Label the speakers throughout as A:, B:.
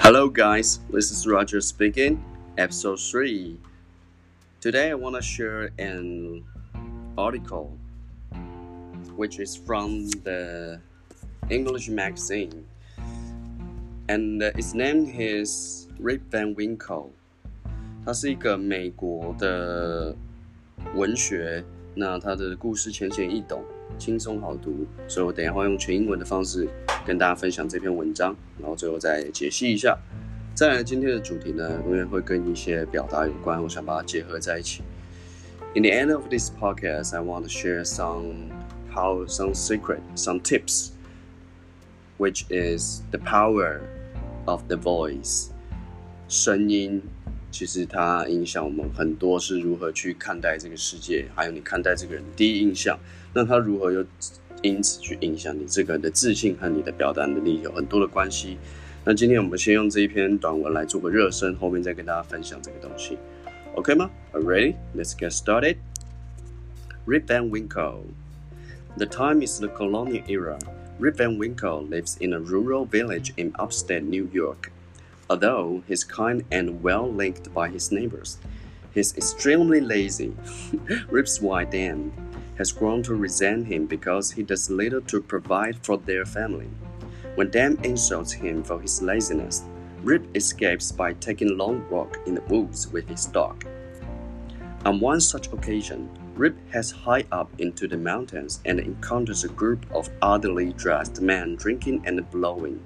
A: Hello guys, this is Roger speaking, episode 3. Today I want to share an article which is from the English magazine, and its name is Rip Van Winkle. 它是一个美国的文学，那它的故事浅显易懂，轻松好读，所以我等一下会用全英文的方式跟大家分享这篇文章，然后最后再解析一下。再来，今天的主题呢，因为会跟一些表达有关，我想把它结合在一起。In the end of this podcast, I want to share some secret, some tips, which is the power of the voice. 声音其实它影响我们很多，是如何去看待这个世界，还有你看待这个人的第一印象。那它如何又因此去影响你这个人的自信和你的表达能力，有很多的关系。那今天我们先用这一篇短文来做个热身，后面再跟大家分享这个东西。OK 吗？ Are you ready? Let's get started. Rip Van Winkle. The time is the colonial era. Rip Van Winkle lives in a rural village in upstate New York. Although he's kind and well-liked by his neighbors, he's extremely lazy. Rip's wife, Dan, has grown to resent him because he does little to provide for their family. When Dan insults him for his laziness, Rip escapes by taking a long walk in the woods with his dog. On one such occasion, Rip heads high up into the mountains and encounters a group of oddly dressed men drinking and bowling.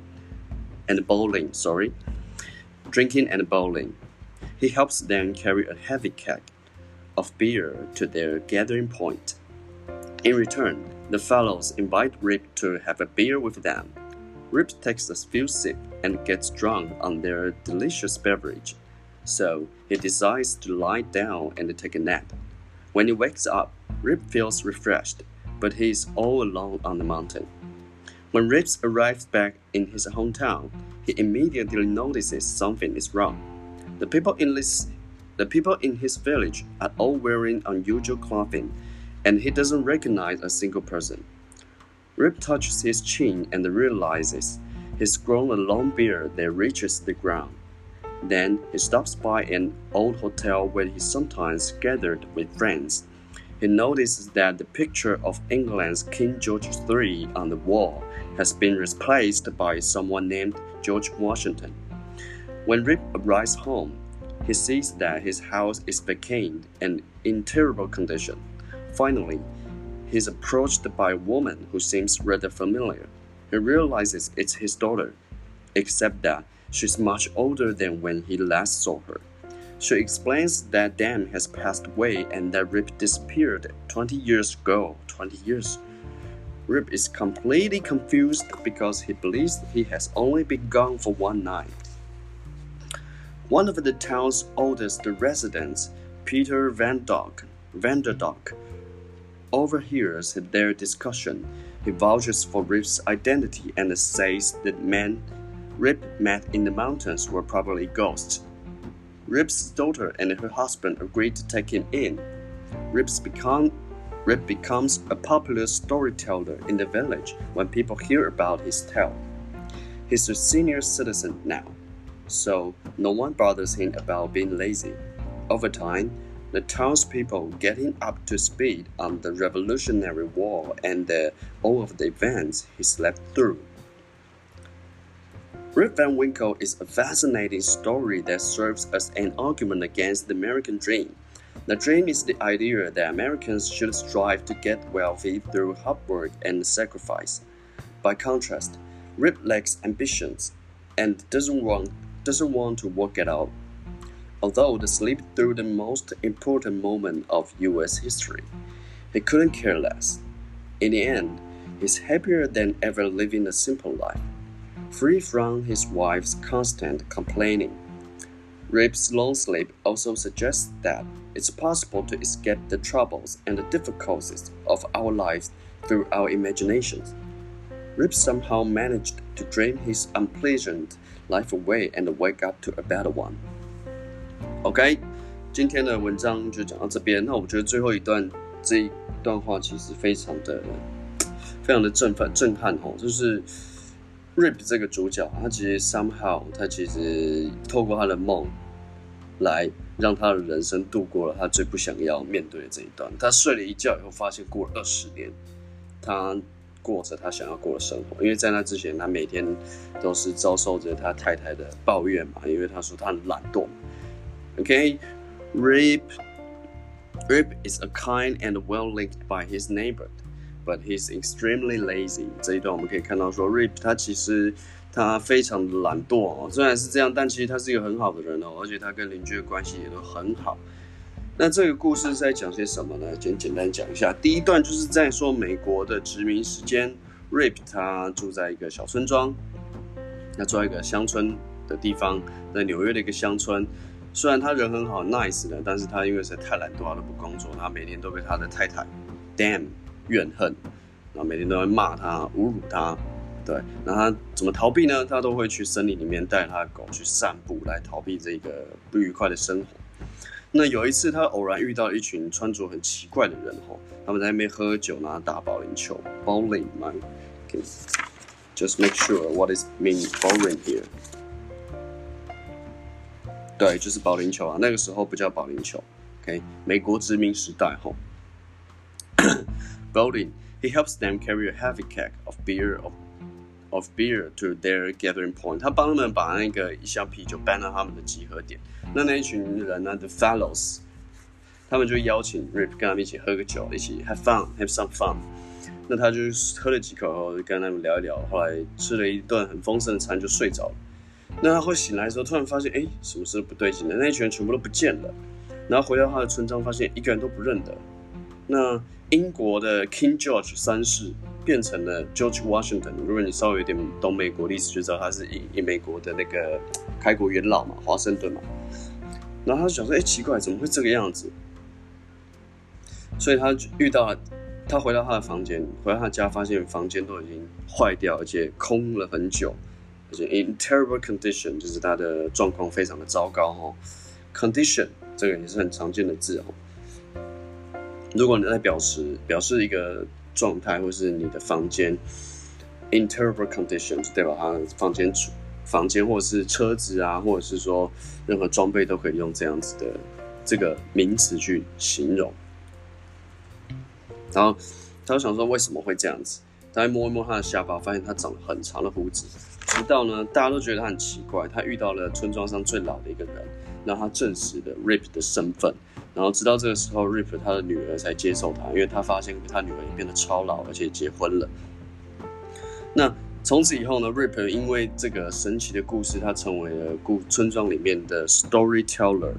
A: He helps them carry a heavy keg of beer to their gathering point. In return, the fellows invite Rip to have a beer with them. Rip takes a few sips and gets drunk on their delicious beverage, so he decides to lie down and take a nap. When he wakes up, Rip feels refreshed, but he is all alone on the mountain. When Rip arrives back in his hometown, he immediately notices something is wrong. The people in his village are all wearing unusual clothing, and he doesn't recognize a single person. Rip touches his chin and realizes he's grown a long beard that reaches the ground. Then he stops by an old hotel where he sometimes gathered with friends. He notices that the picture of England's King George III on the wall has been replaced by someone named George Washington. When Rip arrives home, he sees that his house is vacant and in terrible condition. Finally, he's approached by a woman who seems rather familiar. He realizes it's his daughter, except that she's much older than when he last saw her. She explains that Dan has passed away and that Rip disappeared 20 years ago. 20 years. Rip is completely confused because he believes he has only been gone for one night. One of the town's oldest residents, Peter Vanderdonk, overhears their discussion. He vouches for Rip's identity and says that men Rip met in the mountains were probably ghosts. Rip's daughter and her husband agree to take him in. Rip becomes a popular storyteller in the village when people hear about his tale. He's a senior citizen now, so no one bothers him about being lazy. Over time, the townspeople get him up to speed on the Revolutionary War and all of the events he slept through. Rip Van Winkle is a fascinating story that serves as an argument against the American dream. The dream is the idea that Americans should strive to get wealthy through hard work and sacrifice. By contrast, Rip lacks ambitions and doesn't want to work at all. Although they sleep through the most important moment of U.S. history, he couldn't care less. In the end, he's happier than ever living a simple life, free from his wife's constant complaining. Rip's long sleep also suggests that it's possible to escape the troubles and the difficulties of our lives through our imaginations. Rip somehow managed to dream his unpleasant life away and wake up to a better one. OK， 今天的文章就讲到这边。那我觉得最后这一段话其实非常的震撼哦，就是 Rip 这个主角，他其实 somehow 他其实透过他的梦来让他的人生度过了他最不想要面对的这一段。他睡了一觉以后，发现过了20年，他过着他想要过的生活。因为在那之前，他每天都是遭受着他太太的抱怨嘛，因为他说他很懒惰。Okay, Rip is a kind and well-liked by his neighbor.But he's extremely lazy. 这一段我们可以看到说 ，Rip 他其实他非常的懒惰哦。虽然是这样，但其实他是一个很好的人哦，而且他跟邻居的关系也都很好。那这个故事是在讲些什么呢？简单讲一下。第一段就是在说美国的殖民时间 ，Rip 他住在一个小村庄，他住在一个乡村的地方，在纽约的一个乡村。虽然他人很好 ，nice 的，但是他因为实在太懒惰，他都不工作，他每天都被他的太太 damn 怨恨，然后每天都会骂他、侮辱他。对，那他怎么逃避呢？他都会去森林里面带他的狗去散步，来逃避这个不愉快的生活。那有一次，他偶然遇到一群穿着很奇怪的人吼，他们在那边喝酒，然后打保龄球 ，bowling 嘛。Okay. Just make sure what is mean bowling here. 对，就是保龄球啊，那个时候不叫保龄球。OK， 美国殖民时代吼。Bowling, he helps them carry a heavy keg of beer to their gathering point. 他帮他们把那个一箱啤酒搬到他们的集合点。那一群人呢 ，the fellows， 他们就邀请 Rip 跟他们一起喝个酒，一起 have some fun。那他就喝了几口后，就跟他们聊一聊，后来吃了一顿很丰盛的餐，就睡着了。那他会醒来的时候，突然发现，什么事都不对劲了，那一群人全部都不见了。然后回到他的村庄，发现一个人都不认得。那英国的 King George 3世变成了 George Washington。如果你稍微有点懂美国历史，就知道他是以美国的那个开国元老嘛，华盛顿嘛。然后他就想说，奇怪，怎么会这个样子？所以他遇到了，他回到他的房间，回到他家，发现房间都已经坏掉，而且空了很久，而且 in terrible condition， 就是他的状况非常的糟糕哦。Condition 这个也是很常见的字哦。如果你在表示一个状态，或是你的房间 in terrible condition， 就代表他的房间或者是车子啊，或者是说任何装备都可以用这样子的这个名词去形容。然后他就想说为什么会这样子？他摸一摸他的下巴，发现他长了很长的胡子。直到呢，大家都觉得他很奇怪，他遇到了村庄上最老的一个人，让他证实了 Rip 的身份。然后直到这个时候 ，Rip 他的女儿才接受他，因为他发现他女儿也变得超老，而且结婚了。那从此以后呢 ，Rip 因为这个神奇的故事，他成为了村庄里面的 storyteller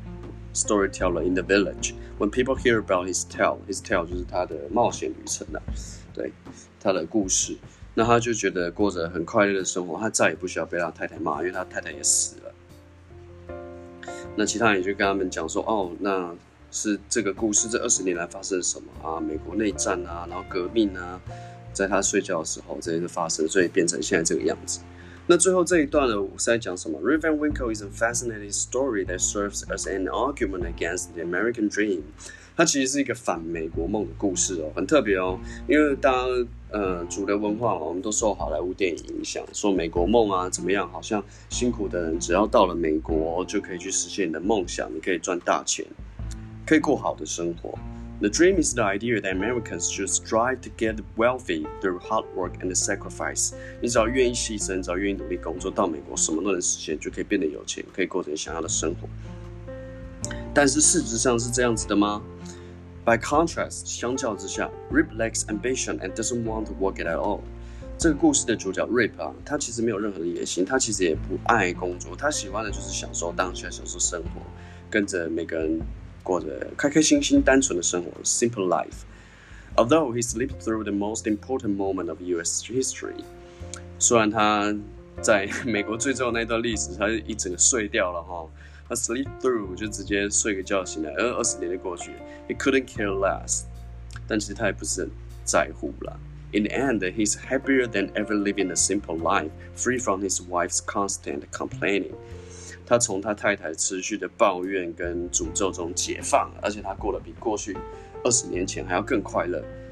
A: in the village. When people hear about his tale 就是他的冒险旅程啊，对，他的故事。那他就觉得过着很快乐的生活，他再也不需要被他太太骂，因为他太太也死了。那其他人也就跟他们讲说，那是这个故事这20年来发生了什么啊？美国内战啊，然后革命啊，在他睡觉的时候这些都发生，所以变成现在这个样子。那最后这一段呢，我是在讲什么 ？Rip Van Winkle is a fascinating story that serves as an argument against the American dream. 它其实是一个反美国梦的故事哦，很特别哦。因为大家主流文化我们都受好莱坞电影影响，说美国梦啊怎么样，好像辛苦的人只要到了美国就可以去实现你的梦想，你可以赚大钱，可以过好的生活。The dream is the idea that Americans should strive to get wealthy through hard work and sacrifice. 你只要愿意牺牲，只要愿意努力工作，到美国什么都能实现，就可以变得有钱，可以过着你想要的生活。但是事实上是这样子的吗？ By contrast， 相较之下 ，Rip lacks ambition and doesn't want to work it at all. 这个故事的主角 Rip 啊，他其实没有任何的野心，他其实也不爱工作，他喜欢的就是享受当下，享受生活，跟着每个人过着开开心心、单纯的生活 ，simple life. Although he slipped through the most important moment of U.S. history， 虽然他在美国最重要的那段历史，他一整个睡掉了哈。他 sleep through 就直接睡个觉醒来，20年就过去 ，he couldn't care less， 但其实他也不是很在乎啦。In the end, he's happier than ever living a simple life, free from his wife's constant complaining. 他从他太太持续的抱怨跟诅咒中解放了，而且他过得比过去20年前还要更快乐。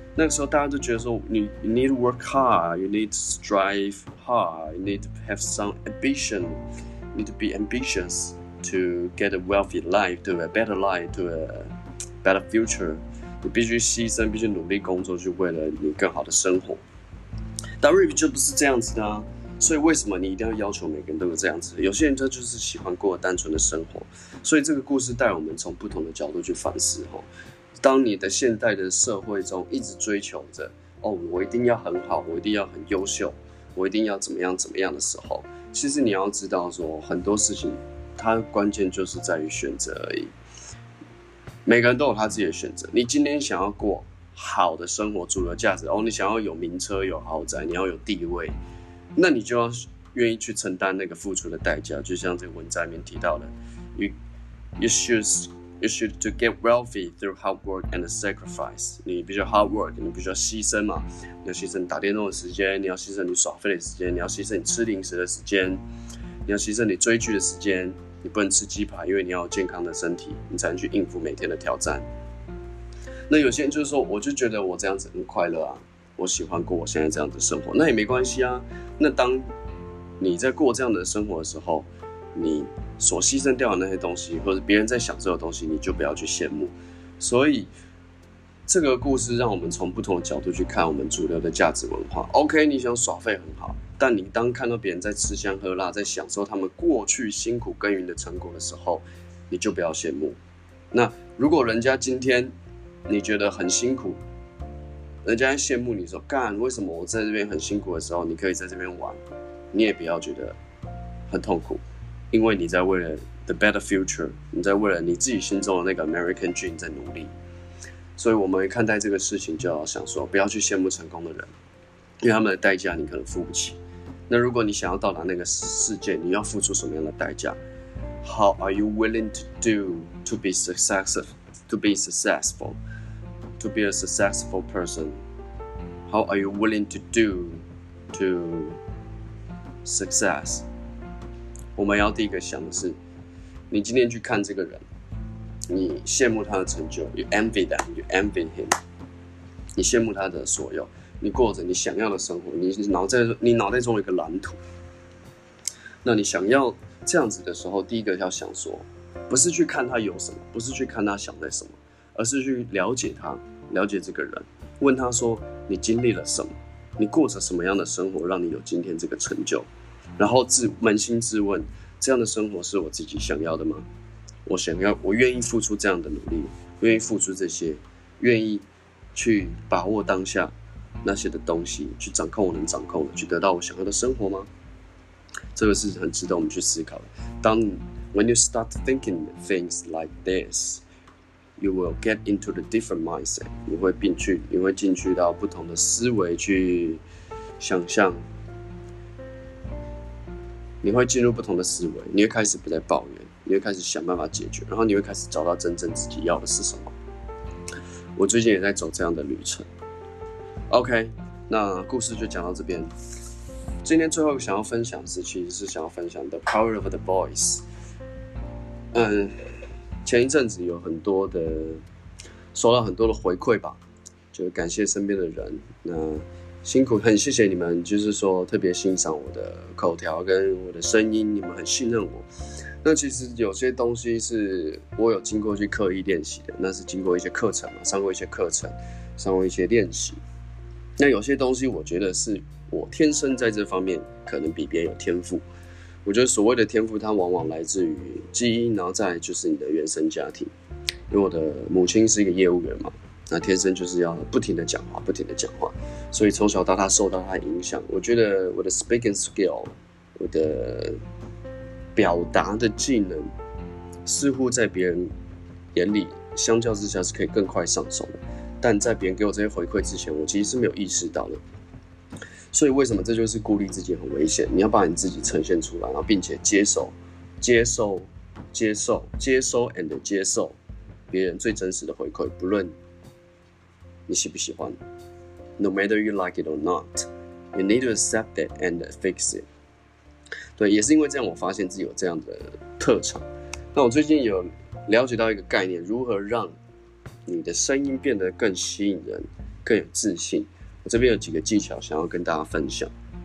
A: 那个时候大家都觉得说you need to work hard, you need to strive hard, you need to have some ambition, you need to be ambitious to get a wealthy life, to a better life, to a better future. 你必须牺牲，必须努力工作，就为了你更好的生活。但 Rip 就不是这样子的啊，所以为什么你一定要要求每个人都有这样子？有些人他就是喜欢过单纯的生活，所以这个故事带我们从不同的角度去反思哈。当你的现代的社会中一直追求着我一定要很好，我一定要很优秀，我一定要怎么样怎么样的时候，其实你要知道说很多事情，它关键就是在于选择而已。每个人都有他自己的选择。你今天想要过好的生活，主流价值你想要有名車、有豪宅，你要有地位，那你就要愿意去承担那个付出的代价。就像这个文章里面提到的 You should to get wealthy through hard work and sacrifice. 你必须要 hard work， 你必须要牺牲嘛。你要牺牲你打电动的时间，你要牺牲你耍废的时间，你要牺牲你吃零食的时间，你要牺牲你追剧的时间。你不能吃鸡排，因为你要有健康的身体，你才能去应付每天的挑战。那有些人就是说，我就觉得我这样子很快乐啊，我喜欢过我现在这样的生活，那也没关系啊。那当你在过这样的生活的时候，你所牺牲掉的那些东西，或者别人在享受的东西，你就不要去羡慕。所以这个故事让我们从不同的角度去看我们主流的价值文化。OK， 你想耍废很好，但你当看到别人在吃香喝辣，在享受他们过去辛苦耕耘的成果的时候，你就不要羡慕。那如果人家今天你觉得很辛苦，人家羡慕你说干，为什么我在这边很辛苦的时候，你可以在这边玩，你也不要觉得很痛苦，因为你在为了 the better future， 你在为了你自己心中的那个 American dream 在努力。所以我们看待这个事情就要想说，不要去羡慕成功的人，因为他们的代价你可能付不起。那如果你想要到达那个世界，你要付出什么样的代价？ How are you willing to do to be successful? To be a successful person? How are you willing to do to success? 我们要第一个想的是，你今天去看这个人，你羡慕他的成就 ，you envy them, you envy him， 你羡慕他的所有，你过着你想要的生活，你脑袋中有一个蓝图。那你想要这样子的时候，第一个要想说，不是去看他有什么，不是去看他想在什么，而是去了解他，了解这个人，问他说你经历了什么，你过着什么样的生活，让你有今天这个成就，然后扪心自问，这样的生活是我自己想要的吗？我愿意付出这样的努力，愿意付出这些，愿意去把握当下那些的东西，去掌控我能掌控的，去得到我想要的生活吗？这个是很值得我们去思考的。When you start thinking things like this, you will get into the different mindset. 你会进去到不同的思维去想象，你会进入不同的思维，你会开始不再抱怨，你会开始想办法解决，然后你会开始找到真正自己要的是什么。我最近也在走这样的旅程。OK， 那故事就讲到这边。今天最后想要分享的是，其实是想要分享 The Power of the Voice。前一阵子有收到很多的回馈吧，就感谢身边的人，那辛苦，很谢谢你们，就是说特别欣赏我的口条跟我的声音，你们很信任我。那其实有些东西是我有经过去刻意练习的，那是经过一些课程嘛，上过一些课程，上过一些练习。那有些东西我觉得是我天生在这方面可能比别人有天赋。我觉得所谓的天赋，它往往来自于基因，然后再来就是你的原生家庭。因为我的母亲是一个业务员嘛，那天生就是要不停的讲话，所以从小到大受到她影响。我觉得我的 speaking skill， 我的表达的技能，似乎在别人眼里相较之下是可以更快上手的，但在别人给我这些回馈之前，我其实是没有意识到的。所以为什么这就是孤立自己很危险？你要把你自己呈现出来，然后并且接受and 接受别人最真实的回馈，不论你喜不喜欢。No matter you like it or not, you need to accept it and fix it。对，也是因为这样，我发现自己有这样的特长。那我最近有了解到一个概念，如何让你的声音变得更吸引人， 更有自信。我这边有几个技巧想要跟大家分享。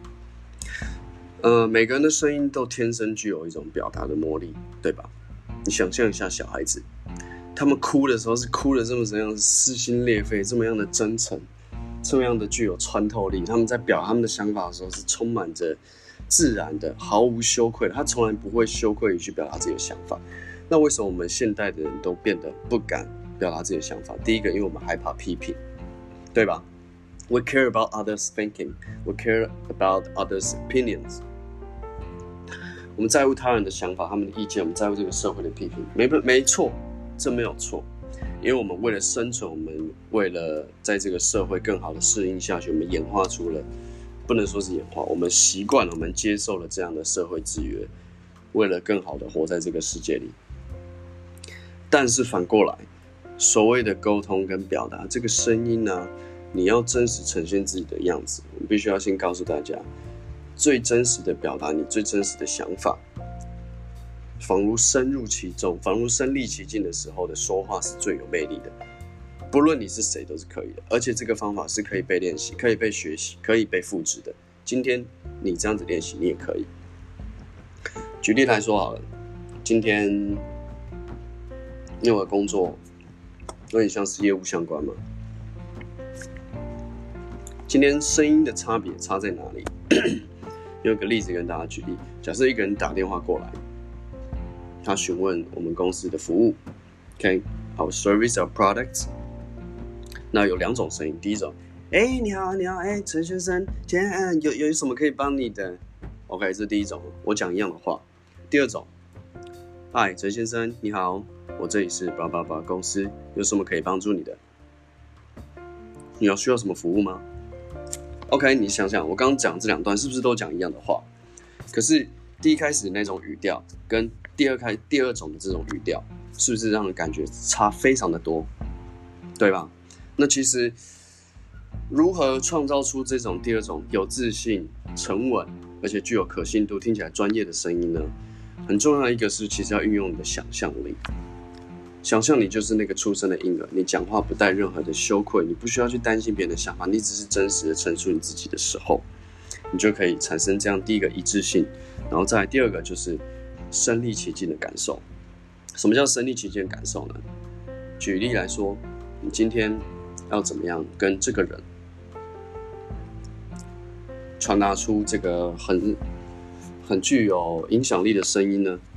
A: 每个人的声音都天生具有一种表达的魔力，对吧？你想象一下小孩子，他们哭的时候是哭的这么怎样撕心裂肺，这么样的真诚，这么样的具有穿透力。他们在表达他们的想法的时候是充满着自然的，毫无羞愧的，他从来不会羞愧于去表达自己的想法。那为什么我们现代的人都变得不敢表达自己的想法？第一个，因为我们害怕批评，对吧？ We care about others' thinking. We care about others' opinions. 我们在乎他人的想法，他们的意见，我们在乎这个社会的批评。没错，这没有错。因为我们为了生存，我们为了在这个社会更好的适应下去，我们演化出了，不能说是演化，我们习惯了，我们接受了这样的社会制约，为了更好的活在这个世界里。但是反过来，所谓的沟通跟表达，这个声音呢，你要真实呈现自己的样子，我们必须要先告诉大家，最真实的表达你最真实的想法，仿如深入其中，仿如身临其境的时候的说话是最有魅力的。不论你是谁都是可以的，而且这个方法是可以被练习，可以被学习，可以被复制的。今天你这样子练习，你也可以。举例来说好了，今天因为我的工作有点像是业务相关嘛，今天声音的差别差在哪里？用个例子跟大家举例，假设一个人打电话过来，他询问我们公司的服务 ，OK， our service or products。那有2种声音，第一种，你好，陈先生，今天有什么可以帮你的 ？OK， 这是第一种，我讲一样的话。第二种，嗨，陈先生，你好，我这里是叭叭叭公司，有什么可以帮助你的？你需要什么服务吗？ OK， 你想想，我刚刚讲这2段是不是都讲一样的话？可是第一开始那种语调跟第二种的这种语调，是不是让人感觉差非常的多？对吧？那其实如何创造出这种第二种有自信、沉稳，而且具有可信度、听起来专业的声音呢？很重要的一个是，其实要运用你的想象力。想象你就是那个出生的婴儿，你讲话不带任何的羞愧，你不需要去担心别人的想法，你只是真实的陈述你自己的时候，你就可以产生这样第一个一致性，然后再来第二个就是身临其境的感受。什么叫身临其境的感受呢？举例来说，你今天要怎么样跟这个人传达出这个很具有影响力的声音呢？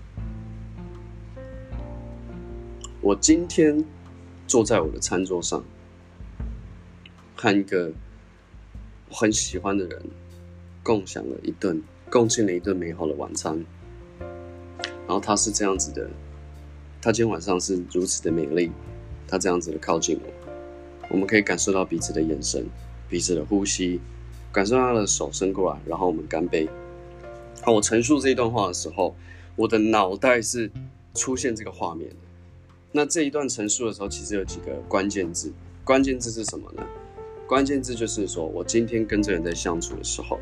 A: 我今天坐在我的餐桌上，和一个我很喜欢的人共进了一顿美好的晚餐。然后他是这样子的，他今天晚上是如此的美丽，他这样子的靠近我们可以感受到彼此的眼神，彼此的呼吸，感受到他的手伸过来，然后我们干杯。好，我陈述这一段话的时候，我的脑袋是出现这个画面的。那这一段陈述的时候，其实有几个关键字。关键字是什么呢？关键字就是说我今天跟这个人在相处的时候，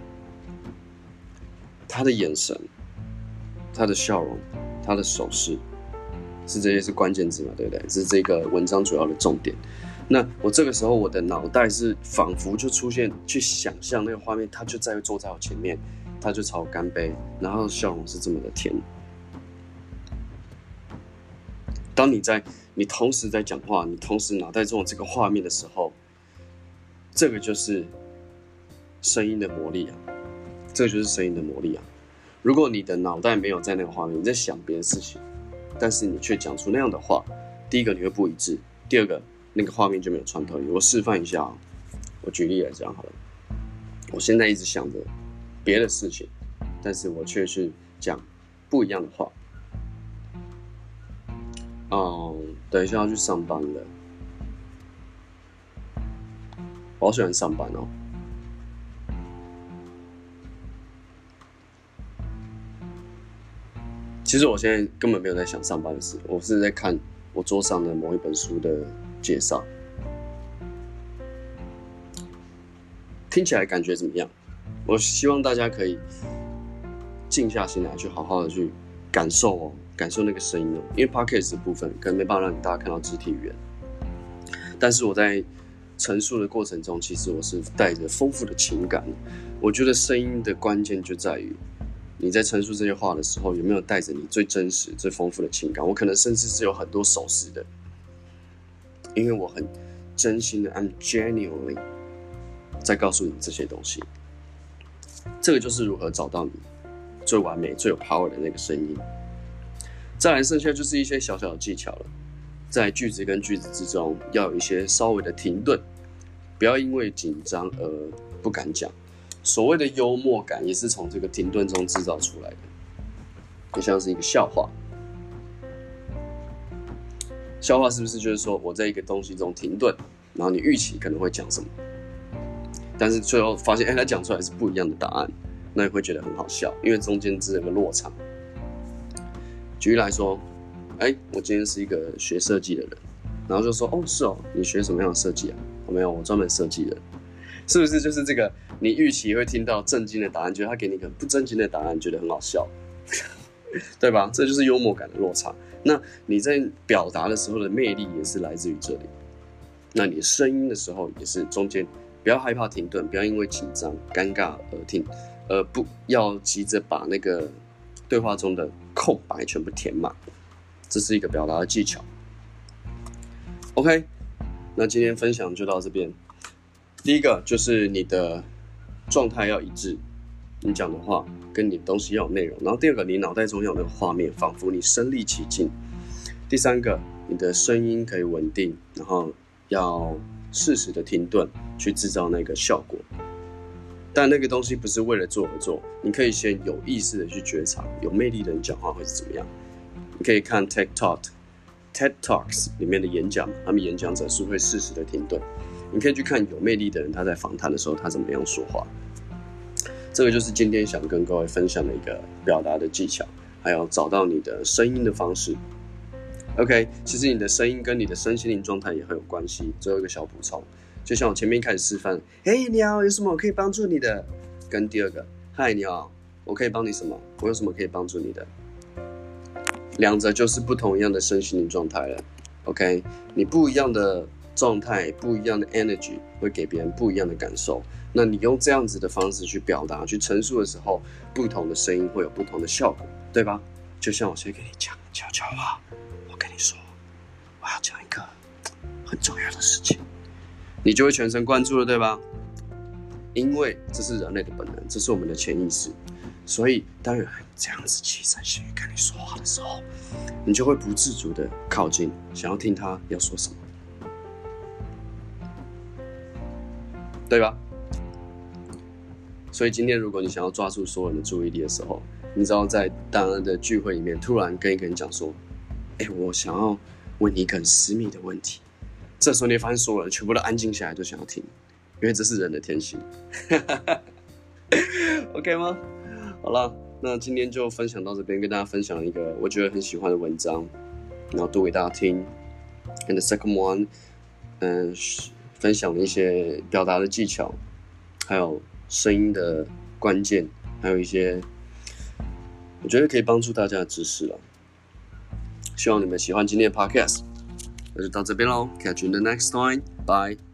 A: 他的眼神、他的笑容、他的手势，这些是关键字嘛，对不对？这是这个文章主要的重点。那我这个时候，我的脑袋是仿佛就出现，去想象那个画面，他就坐在我前面，他就朝我干杯，然后笑容是这么的甜。当你同时在讲话，你同时脑袋中有这个画面的时候，这个就是声音的魔力啊！这个就是声音的魔力啊！如果你的脑袋没有在那个画面，你在想别的事情，但是你却讲出那样的话，第一个你会不一致，第二个那个画面就没有穿透力。我示范一下啊，我举例来讲好了。我现在一直想着别的事情，但是我却是讲不一样的话。等一下要去上班了，我好喜欢上班哦。其实我现在根本没有在想上班的事，我是在看我桌上的某一本书的介绍。听起来感觉怎么样？我希望大家可以静下心来，去好好的去感受那个声音哦。因为 podcast 的部分可能没办法让大家看到肢体语言，但是我在陈述的过程中，其实我是带着丰富的情感。我觉得声音的关键就在于你在陈述这些话的时候，有没有带着你最真实、最丰富的情感。我可能甚至是有很多手势的，因为我很真心的 ，I'm genuinely 在告诉你这些东西。这个就是如何找到你最完美、最有 power 的那个声音。再来，剩下就是一些小小的技巧了。在句子跟句子之中，要有一些稍微的停顿，不要因为紧张而不敢讲。所谓的幽默感，也是从这个停顿中制造出来的。就像是一个笑话，笑话是不是就是说我在一个东西中停顿，然后你预期可能会讲什么，但是最后发现，他讲出来是不一样的答案，那你会觉得很好笑，因为中间只有个落差。举例来说，我今天是一个学设计的人，然后就说，是哦，你学什么样的设计啊？没有，我专门设计的，是不是就是这个？你预期会听到正经的答案，觉得他给你一个不正经的答案，觉得很好笑，对吧？这就是幽默感的落差。那你在表达的时候的魅力也是来自于这里。那你声音的时候也是中间不要害怕停顿，不要因为紧张、尴尬而不要急着把那个对话中的空白全部填满。这是一个表达的技巧。OK， 那今天分享就到这边。第一个就是你的状态要一致，你讲的话跟你的东西要有内容。然后第二个，你脑袋中要有那个画面，仿佛你身临其境。第三个，你的声音可以稳定，然后要适时的停顿，去制造那个效果。但那个东西不是为了做而做，你可以先有意识的去觉察，有魅力的人讲话会是怎么样。你可以看 TED Talks 里面的演讲，他们演讲者是会适时的停顿。你可以去看有魅力的人，他在访谈的时候他怎么样说话。这个就是今天想跟各位分享的一个表达的技巧，还有找到你的声音的方式。OK， 其实你的声音跟你的身心灵状态也很有关系。最后一个小补充，就像我前面开始示范，嘿，你好，有什么我可以帮助你的？跟第二个，嗨，你好，我可以帮你什么？我有什么可以帮助你的？两者就是不同样的身心灵状态了。OK， 你不一样的状态，不一样的 energy 会给别人不一样的感受。那你用这样子的方式去表达、去陈述的时候，不同的声音会有不同的效果，对吧？就像我先跟你讲悄悄话，我跟你说，我要讲一个很重要的事情，你就会全神贯注了，对吧？因为这是人类的本能，这是我们的潜意识，所以当有人这样子气喘吁吁跟你说话的时候，你就会不自主的靠近，想要听他要说什么，对吧？所以今天如果你想要抓住所有人的注意力的时候，你知道在大家的聚会里面突然跟一个人讲说，我想要问你一个很私密的问题，这时候你会发现所有人全部都安静下来，都想要听，因为这是人的天性。OK 吗？好了，那今天就分享到这边，跟大家分享一个我觉得很喜欢的文章，然后读给大家听。And the second one，分享了一些表达的技巧，还有声音的关键，还有一些我觉得可以帮助大家的知识了。希望你们喜欢今天的 podcast， 那就到这边咯。Catch you in the next time. Bye.